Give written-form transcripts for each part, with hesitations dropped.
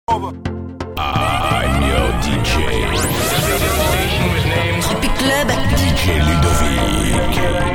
I'm your DJ. Tropic Club. DJ Ludovic.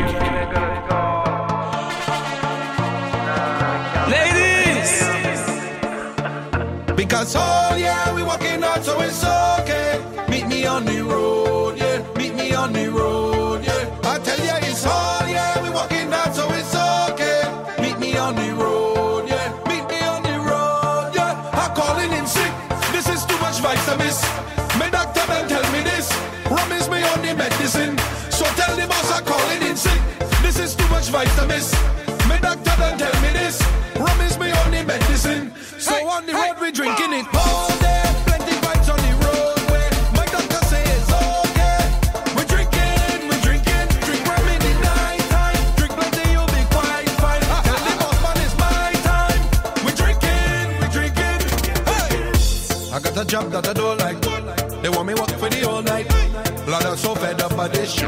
Ladies! Because oh yeah, we walking out, so it's okay. Meet me on the road, yeah. Meet me on the road, yeah. I tell ya it's all, yeah. We walking out, so it's okay. Meet me on the road, yeah. Meet me on the road, yeah. I'm calling in sick. This is too much vibes to miss. My doctor don't tell me this. Rum is me on the medicine. So tell the boss I'm calling in sick. This is too much vibes to miss. My doctor don't tell me this. Rum is me on the medicine. So on the road we drinking it all day. Plenty vibes on the roadway. My doctor say it's okay. We're drinking. Drink rum in the night time. Drink plenty, you'll be quite fine. Tell the boss man it's my time. We're drinking. Hey! I got a job that I don't like. They want me work for the whole night. Blood, I'm so fed up by this shit.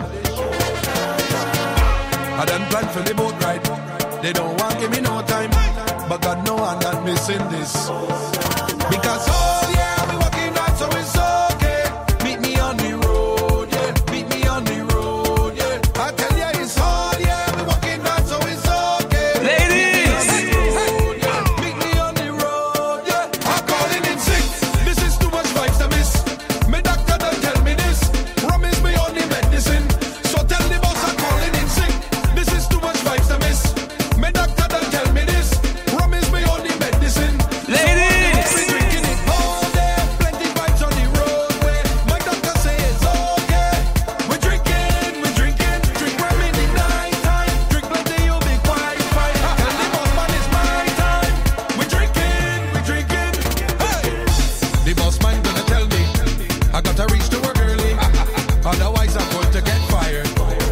I done planned for the boat ride. They don't want give me no time. But God know I'm not missing this. Because oh yeah, we walking out, so it's okay. Meet me on the road, yeah. Meet me on the road, yeah. I tell ya it's hard, yeah. We walking out, so it's okay. Ladies! Meet me on the road, yeah. I'm calling in sick. This is too much vibes to miss. My doctor don't tell me this. Rum is me on the medicine. So tell the boss I'm calling in sick. This is too much vibes to miss. My doctor don't tell me this. Rum is me on the medicine. Ladies! So we drinking it all day. Plenty vibes on the roadway. My doctor say it's okay. We're drinking. Drink rum in the night time. Drink plenty, you'll be quite fine. Tell the boss man it's my time. We're drinking. Hey! The boss man gonna tell me I gotta reach to work early. Otherwise I'm going to get fired.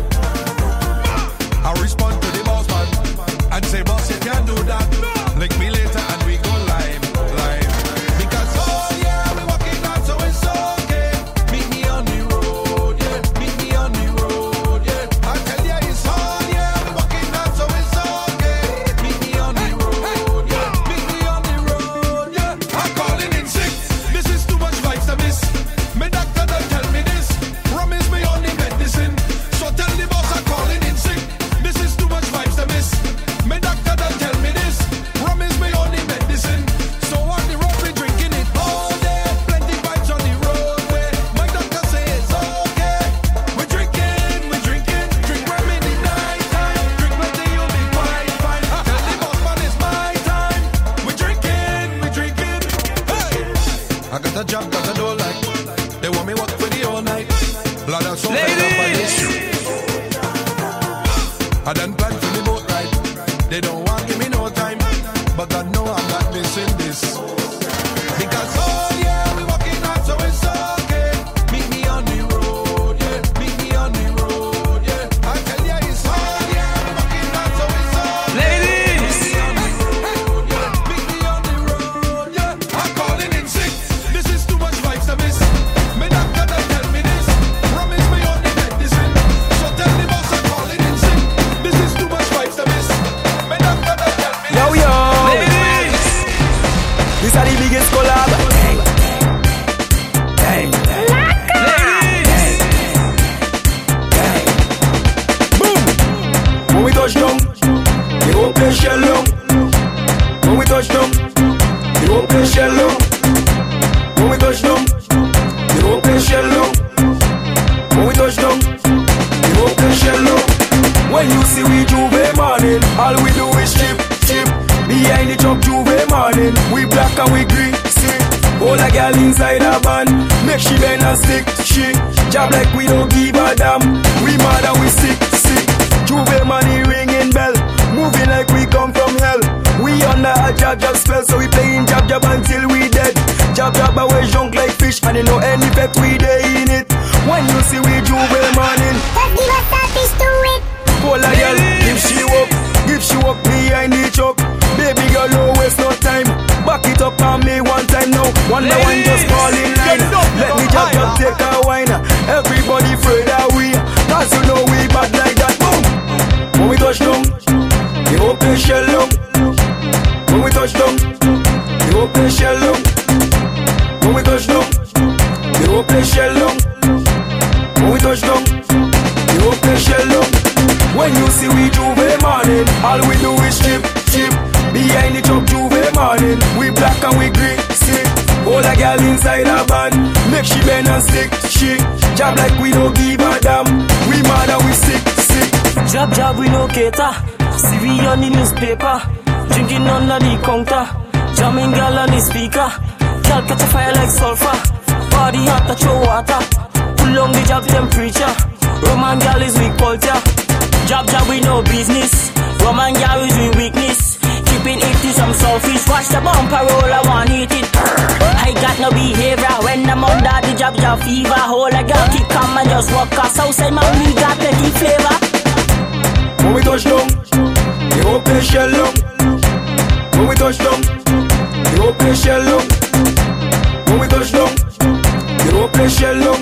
I respond to the boss man and say, boss, you can't do that. Link me later and we go live. Because oh yeah, we walking out, so it's okay. Meet me on the road, yeah. Meet me on the road, yeah. I tell ya it's hard, yeah. We walking out, so it's okay. Meet me on the road, yeah. Meet me on the road, yeah. I'm calling in sick. This is too much vibes to miss. My doctor don't tell me this. Rum is me on the medicine. So tell the boss I'm calling in sick. This is too much vibes to miss. My doctor don't tell me this. Rum is me on the medicine. So on the road we drinking it all day. Plenty vibes on the roadway. My doctor say it's okay. We're drinking. Drink rum in the night time. Drink plenty, you'll be quite fine. Tell the boss man it's my time. We're drinking. Hey! I got a job that I don't like. They want me work for the whole night. Blood, I'm so fed up by this shit. I done planned for the boat ride. They don't want give me no time. But God know I'm not missing this. Because oh yeah, we walking out, so it's okay. Meet me on the road, yeah. Meet me on the road, yeah. I tell ya it's hard, yeah. We walking out, so it's okay. Ladies! Meet me on the road, yeah. I'm calling in sick. This is too much vibes to miss. My doctor don't tell me this. Rum is me on the medicine. So tell the boss I'm calling in sick. This is too much vibes to miss. My doctor don't tell me this. Yo, Ladies! this is the biggest collab. Dang. Ladies! Boom. When we touch down, they won't play shell long. When we touch down, they won't play shell long. When we touch down, they won't play shell long. When we touch down, they won't play shell long. When you see we Juve morning, all we do is chip. Behind the truck Juve morning, we black and we green. See, all a girl inside a van, make she bend and stick. She job like we don't give a damn. We mad and we sick. Juve money ringing bell, moving like we come from hell. We under a jab spell, so we playing jab until we dead. Jab away junk like fish, and you know any pet we dey in it. When you see we Juve morning, Let's give us that fish to it. pull a girl, give she walk behind the truck. Baby girl, no waste no time. Back it up on me one time now. One by one, just fall in line. Let me just take a wine. Everybody afraid that we, cause you know we bad like that. Boom. When we touch down, they open shell long. When we touch down, they open shell long. play shell down. When we touch down, the whole play shell down. When you see we Juve morning, all we do is chip. Behind the truck Juve morning, we black and we green, sick. All a girl inside a band, make she bend and stick. She job like we don't give a damn. We mad and we sick. Job we no cater. See we on the newspaper, drinking under the counter, jamming girl on the speaker. Girl catch a fire like sulfur, body hot to throw water. Pull on the job temperature. Roman girl is weak culture. Job we no business. Roman girl is we weakness. Keeping it to some selfish. Watch the bumper roll, I want hit it. I got no behavior when I'm under the job fever. Hold a girl keep calm and just walk us outside. Man, we got plenty flavor. When we touch down, the whole place shell down. When we touch down, the whole place shell down. When we touch down, the whole place shell down.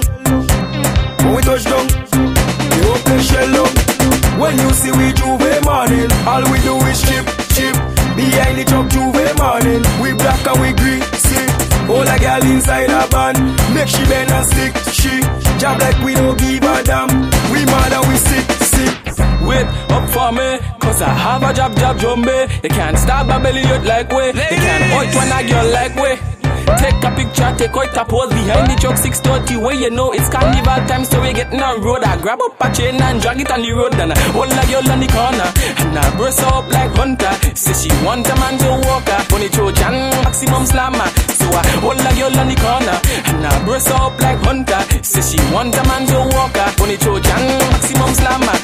When we touch down, the whole place shell down. When you see we Juve morning, all we do is chip. Behind the truck Juve morning, we black and we green, sick. All a girl inside a band, make she bend and stick. She job like we don't give a damn. We mad and we sick. Wait up for me, cause I have a job zombie. They can't stop my belly out like way. They can't point when I girl like way. Take a picture, take out a pose behind the truck 630 where you know it's carnival time, so we getting on road. I grab up a chain and drag it on the road, and I hold a girl on the corner, and I burst her up like Hunter. Say she want a man to walk her, on the Trojan maximum slammer. So I hold a girl on the corner, and I burst her up like Hunter. Say she want a man to walk her, on the Trojan maximum slammer.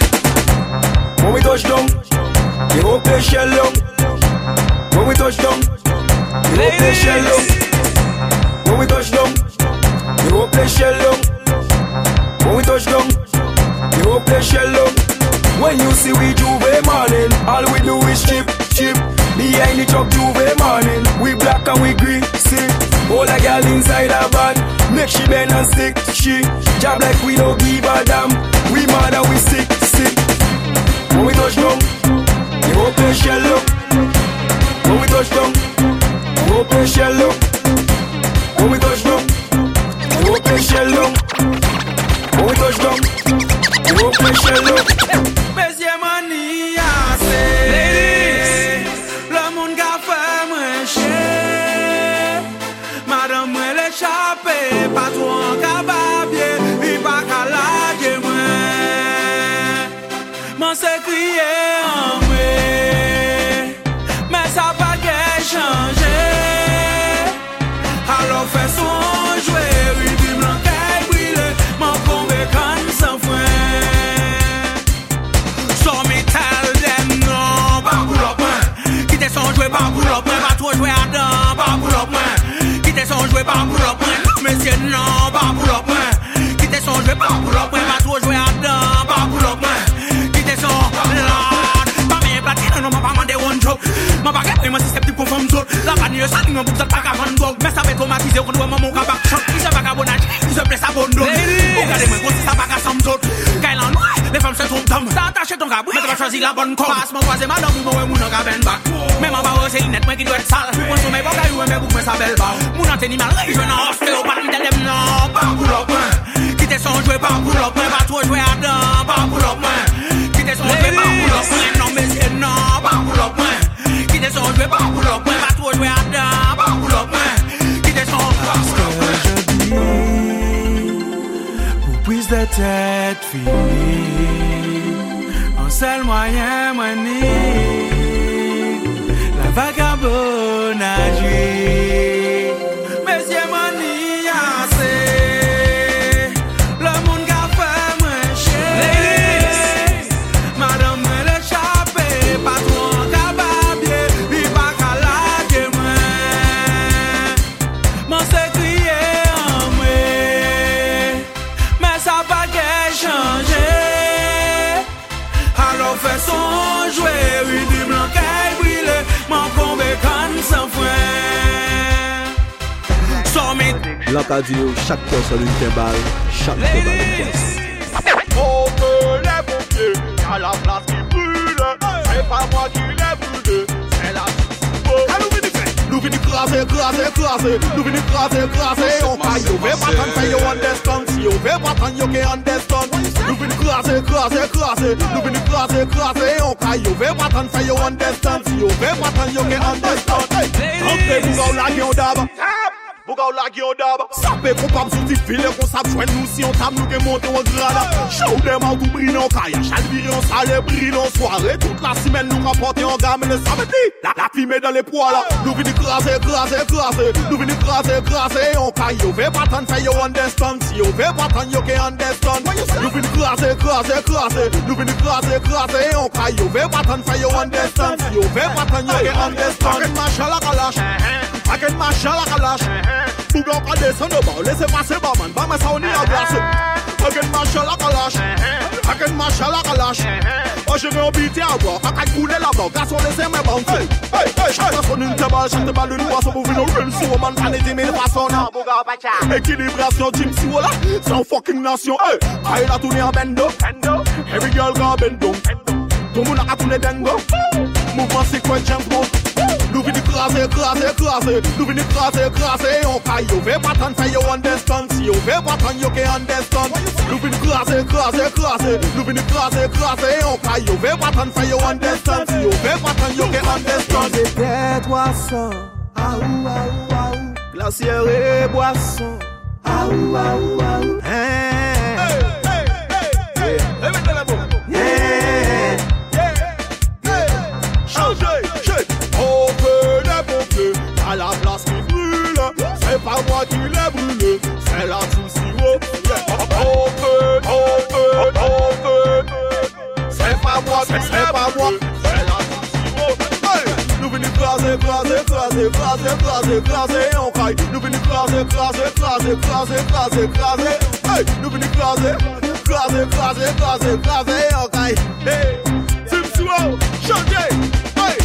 When we touch down, the whole place shell down. When we touch down, the whole place shell down. When we touch down, the whole place shell down. When we touch down, the whole place shell down. When you see we Juve morning, all we do is chip. Behind the truck Juve morning, we black and we green, sick. All a girl inside a band, make she bend and stick. She job like we don't give a damn. We mad and we sick. When we touch down, the whole place shell down. When we touch down, the whole place shell down. When we touch down, the whole place shell down. When we touch down, the whole place shell down. Monsieur Mani a c'est le monde qu'a fait moins cher. Madame moi l'échappé, pas trop en cababier, puis pas qu'à la moi. M'en s'est crié en moi, mais ça pas qu'à changer. Alors fais son jouer, oui, puis m'en qu'à brûler, m'en convaincre sans frein. So me tell them no, pas pour l'op, quittez son jouer, pas pour l'op, pas trop jouer à dents, pas pour l'op, quittez son jouer, pas pour l'op, monsieur non, pas pour l'op, quittez son jouer, pas pour l'op, pas trop jouer à dents, pas pour l'op. M'a pas gagné, moi c'est pour femme zone. La vanille, ça n'y a pas de pas qu'à vendre. Mais ça va automatiser, on doit mon cabac. Il se va qu'à bonage, il se blesse à bon dos. Regardez-moi, ça va qu'à somme zone. Quand il en noie, les femmes se trompent d'homme. T'as attaché ton cabri, mais tu vas choisir la bonne corde. Passe mon croisé, madame, vous m'avez mon cabane bac. Même en bas, c'est une nette, moi qui doit être sale. Mon sommeil, pas qu'à mais vous faites sa belle barre. Mon antenne, mal, je n'en fais pas, il t'aime, non, pas pour l'op. Quittez son jouet, pas pour l'op, pas trop jouer à dents, pas pour l'op. Quittez son jouet, pas pour l'op, non, mais c'est non, pas pour l'op. Quittez son jouet, pas pour l'op, pas trop jouer à dents, pas pour l'op. Quittez son jouet, pour prise de tête, fille, en seul moyen, mani, la vagabondage. Monsieur Mani a c'est le monde qu'a fait moins cher. Madame elle échappé, pas trop en cababier, puis pas qu'à la moi. M'en s'est crié en moi, mais ça pas qu'à changer. Alors fais son jouer, oui du blanc qu'à brûler, m'en convaincre sans frein. L'Acadie, chaque personne une balle, chaque balle une caisse. On peut les pompiers, y'a la place qui brûle. C'est pas moi qui les brûle, c'est la soupe. nous venons craser, nous venons craser, on caille, on veut pas tant faire, you understand, si on veut pas tant, you can understand, nous venons craser, nous venons craser, on caille, on veut pas tant faire, you understand, si on veut pas tant, you can understand, entrez, vous la gueule d'abord. Bougaou la gueule d'abord. Sapé qu'on parle sous tes filets, qu'on sape joindre nous si on tape nous qui monte en grade. Show them how to briller en caille. Chalvirer en salle, briller en soirée. Toute la semaine nous rapporter en gamme le samedi. La fumée dans les poils. Nous venons craser. Nous venons craser en caille. On veut pas tant faire you understand. Si on veut pas tant you can understand. Nous venons craser. Nous venons craser en caille. On veut pas tant faire you understand. Si on veut pas tant you can understand. Paquet marche à la calache. Paquet marche à la calache. Bougan pas descendre au bas, laissez passer barman, bah mais ça on est en glace. Paquet marche à la calache, paquet marche à la calache. Oh je vais habiter à boire, paquet couler là-bas, garçon laissez mes banques. Hey, chaque personne une balle une boisson pour venir au rince, au man pané 10 000 façons. Équilibration team si voilà, sans fucking nation. Hey, aïe la tournée en bendo, every girl got bendo. Tout le monde a tourné dengo, mouvement sequence jump mode. Nous venons craser, nous venons craser, on caille, on veut pas tant faire you understand, si on veut pas tant you can understand. Nous venons craser, nous venons craser, on caille, on veut pas tant faire you understand, si on veut pas tant you can understand. C'était toi ça, aou, glacière et boisson, aou, à la place qui brûle, c'est pas moi qui l'ai brûlé, c'est la team sirop. C'est pas moi, c'est la team sirop. Nous venons craser, on caille. Nous venons craser. Nous venons craser, on caille. Hey, team sirop, chantez. Hey,